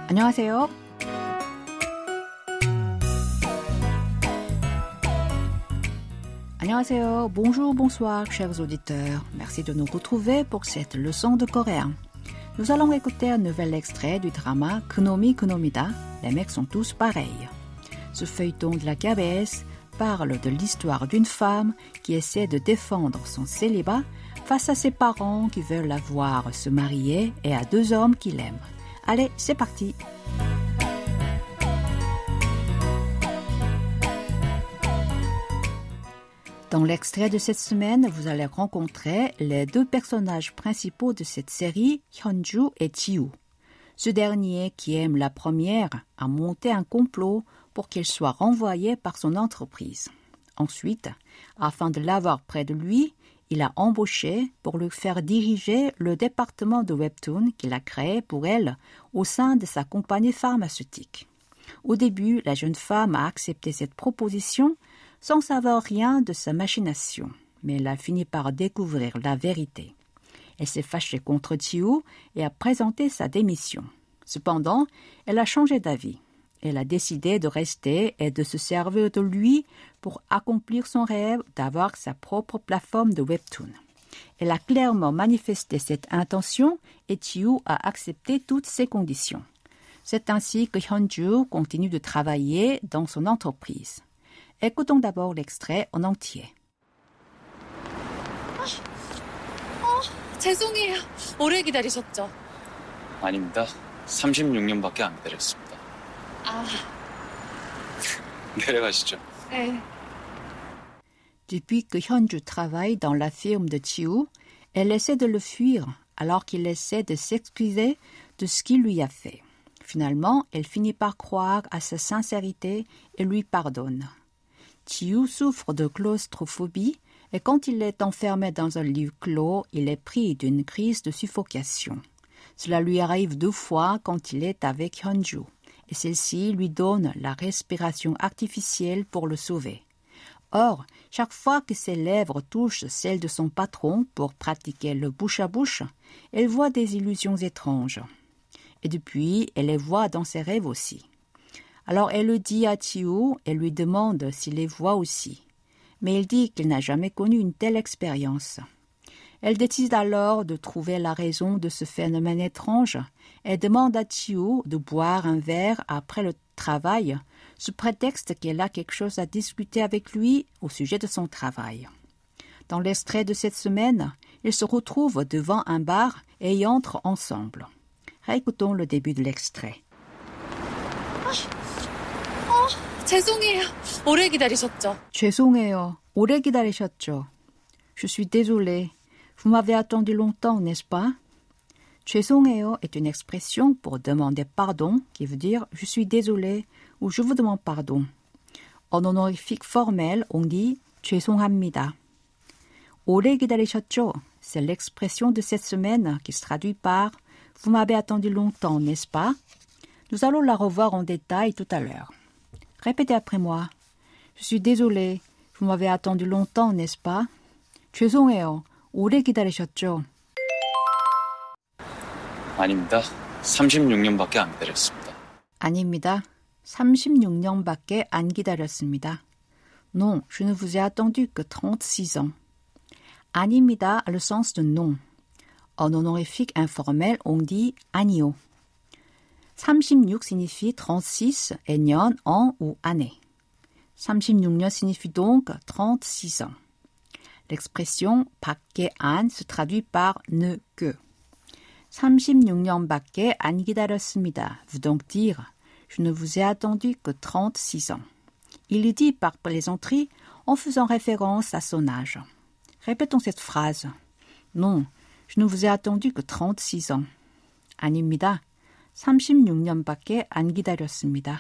안녕하세요. 안녕하세요. Bonjour, bonsoir, chers auditeurs. Merci de nous retrouver pour cette leçon de coréen. Nous allons écouter un nouvel extrait du drama 그놈이 그놈이다. Les mecs sont tous pareils. Ce feuilleton de la KBS parle de l'histoire d'une femme qui essaie de défendre son célibat face à ses parents qui veulent la voir se marier et à deux hommes qui l'aiment. Allez, c'est parti! Dans l'extrait de cette semaine, vous allez rencontrer les deux personnages principaux de cette série, Hyunju et Ji-woo. Ce dernier, qui aime la première, a monté un complot pour qu'elle soit renvoyée par son entreprise. Ensuite, afin de l'avoir près de lui, il a embauché pour lui faire diriger le département de Webtoon qu'il a créé pour elle au sein de sa compagnie pharmaceutique. Au début, la jeune femme a accepté cette proposition sans savoir rien de sa machination, mais elle a fini par découvrir la vérité. Elle s'est fâchée contre Ji-woo et a présenté sa démission. Cependant, elle a changé d'avis. Elle a décidé de rester et de se servir de lui pour accomplir son rêve d'avoir sa propre plateforme de Webtoon. Elle a clairement manifesté cette intention et Ji-woo a accepté toutes ses conditions. C'est ainsi que Hyunju continue de travailler dans son entreprise. Écoutons d'abord l'extrait en entier. 죄송해요. 오래 기다리셨죠? 아닙니다. 36년밖에 안 기다렸습니다. 내려가시죠. 네. Depuis que Hyunju travaille dans la firme de Ji-woo, elle essaie de le fuir alors qu'il essaie de s'excuser de ce qu'il lui a fait. Finalement, elle finit par croire à sa sincérité et lui pardonne. Ji-woo souffre de claustrophobie et quand il est enfermé dans un lieu clos, il est pris d'une crise de suffocation. Cela lui arrive 2 fois quand il est avec Hyunju et celle-ci lui donne la respiration artificielle pour le sauver. Or, chaque fois que ses lèvres touchent celles de son patron pour pratiquer le bouche à bouche, elle voit des illusions étranges. Et depuis, elle les voit dans ses rêves aussi. Alors elle le dit à Ji-woo et lui demande s'il les voit aussi. Mais il dit qu'il n'a jamais connu une telle expérience. Elle décide alors de trouver la raison de ce phénomène étrange et demande à Ji-woo de boire un verre après le travail, sous prétexte qu'elle a quelque chose à discuter avec lui au sujet de son travail. Dans l'extrait de cette semaine, ils se retrouvent devant un bar et y entrent ensemble. Réécoutons le début de l'extrait. 죄송해요. 오래 기다리셨죠? 죄송해요. 오래 기다리셨죠? Je suis désolée. Vous m'avez attendu longtemps, n'est-ce pas? 죄송해요 est une expression pour demander pardon qui veut dire « je suis désolé » ou « je vous demande pardon ». En honorifique formel, on dit « 죄송합니다 ». 오래 기다리셨죠? C'est l'expression de cette semaine qui se traduit par « vous m'avez attendu longtemps, n'est-ce pas ?» Nous allons la revoir en détail tout à l'heure. Répétez après moi. Je suis désolée. Vous m'avez attendu longtemps, n'est-ce pas? 죄송해요. 오래 기다리셨죠? 아닙니다. 36년밖에 안 기다렸습니다. 아닙니다. 36년밖에 안 기다렸습니다. Non, je ne vous ai attendu que 36 ans. 아닙니다 a le sens de non. En honorifique informel, on dit 아니요. 36 signifie 36 et 년, an ou année. 36년 signifie donc 36 ans. L'expression 밖에 안 se traduit par ne que. 36년밖에 안 기다렸습니다 veut donc dire je ne vous ai attendu que 36 ans. Il le dit par plaisanterie en faisant référence à son âge. Répétons cette phrase. Non, je ne vous ai attendu que 36 ans. 아닙니다. 36년밖에 안 기다렸습니다.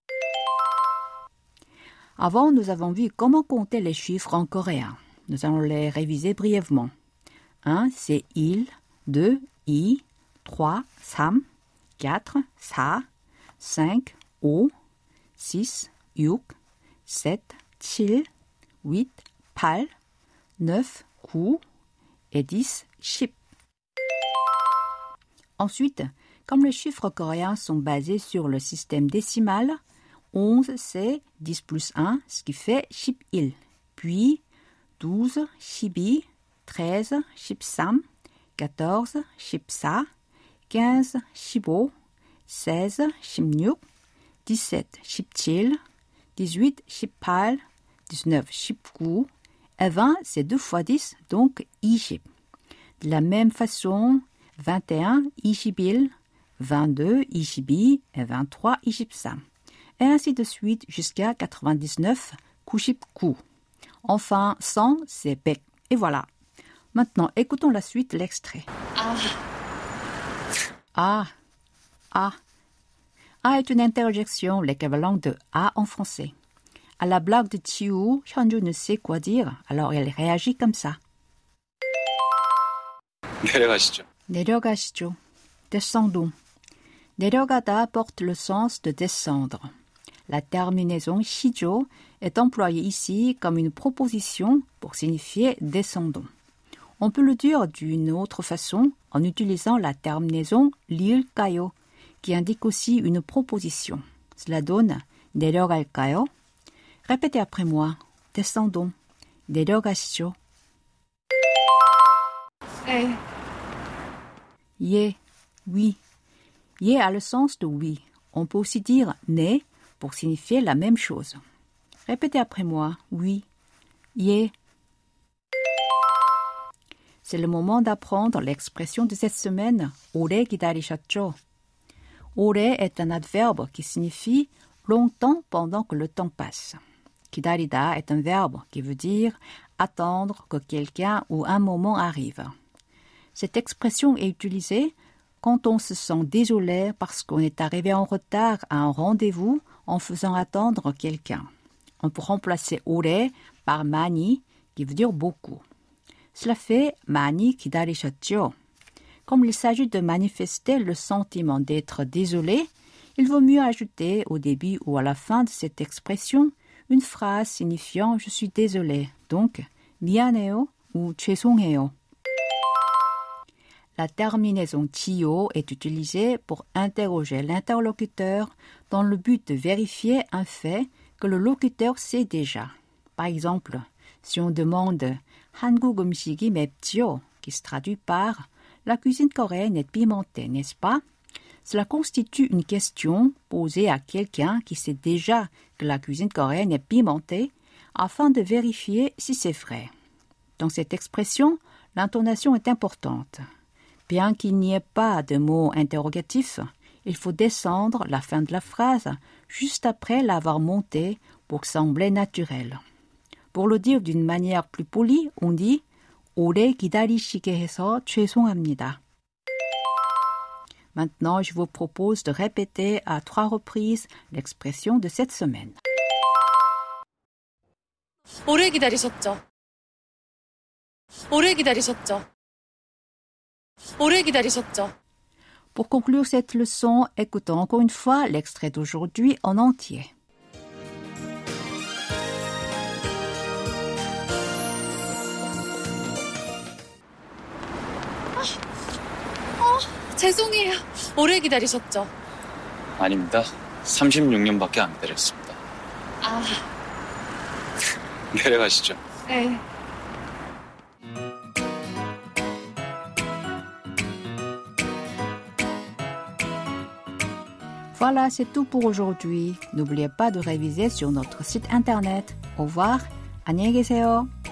Avant, nous avons vu comment compter les chiffres en coréen. Nous allons les réviser brièvement. 1, c'est il. 2, i. 3, 삼. 4, 사. 5, 오. 6, 육. 7, 칠. 8, 팔. 9, 구. Et 10, 10. Ensuite, Comme les chiffres coréens sont basés sur le système décimal, 11 c'est 10 plus 1, ce qui fait 11. Puis 12, 12, 13, 13, 14, 14, 15, 15, 16, 16, 17, 17, 18, 18, 19, 19, et 20 c'est 2 fois 10, donc 20. De la même façon, 21, 21, 22, 22 et 23, 23. Et ainsi de suite jusqu'à 99, 99. Enfin, 100, c'est 100. Et voilà. Maintenant, écoutons la suite, l'extrait. Ah. Ah est une interjection, l'équivalent de A en français. À la blague de Chiu, Hyunju ne sait quoi dire, alors elle réagit comme ça. 내려가시죠. 내려가시죠. Descendons. 내려가다 porte le sens de descendre. La terminaison shijo est employée ici comme une proposition pour signifier descendons. On peut le dire d'une autre façon en utilisant la terminaison 릴까요 qui indique aussi une proposition. Cela donne 내려갈까요? Répétez après moi. Descendons. 내려가시죠. 예, oui. 예 a le sens de oui. On peut aussi dire né pour signifier la même chose. Répétez après moi. Oui. 예. C'est le moment d'apprendre l'expression de cette semaine. 오래 기다리셨죠? 오래 est un adverbe qui signifie longtemps pendant que le temps passe. 기다리다 est un verbe qui veut dire attendre que quelqu'un ou un moment arrive. Cette expression est utilisée quand on se sent désolé parce qu'on est arrivé en retard à un rendez-vous en faisant attendre quelqu'un. On peut remplacer 오래 par 많이 qui veut dire beaucoup. Cela fait 많이 기다리셨죠? Comme il s'agit de manifester le sentiment d'être désolé, il vaut mieux ajouter au début ou à la fin de cette expression une phrase signifiant « je suis désolé », donc « 미안해요 » ou « 죄송해요 ». La terminaison 치요 est utilisée pour interroger l'interlocuteur dans le but de vérifier un fait que le locuteur sait déjà. Par exemple, si on demande « 한국 음식이 맵지요 ?» qui se traduit par « la cuisine coréenne est pimentée, n'est-ce pas ?» Cela constitue une question posée à quelqu'un qui sait déjà que la cuisine coréenne est pimentée afin de vérifier si c'est vrai. Dans cette expression, l'intonation est importante. Bien qu'il n'y ait pas de mot interrogatif, il faut descendre la fin de la phrase juste après l'avoir montée pour sembler naturel. Pour le dire d'une manière plus polie, on dit « 오래 기다리시게 해서 죄송합니다 ». Maintenant, je vous propose de répéter à 3 reprises l'expression de cette semaine. 오래 기다리셨죠? 오래 기다리셨죠? 오래 기다리셨죠? Pour conclure cette leçon, écoutons encore une fois l'extrait d'aujourd'hui en entier. 죄송해요. 오래 기다리셨죠? 아닙니다. 36년밖에 안 기다렸습니다. 내려가시죠. 네. Voilà, c'est tout pour aujourd'hui. N'oubliez pas de réviser sur notre site internet. Au revoir. 안녕히 계세요.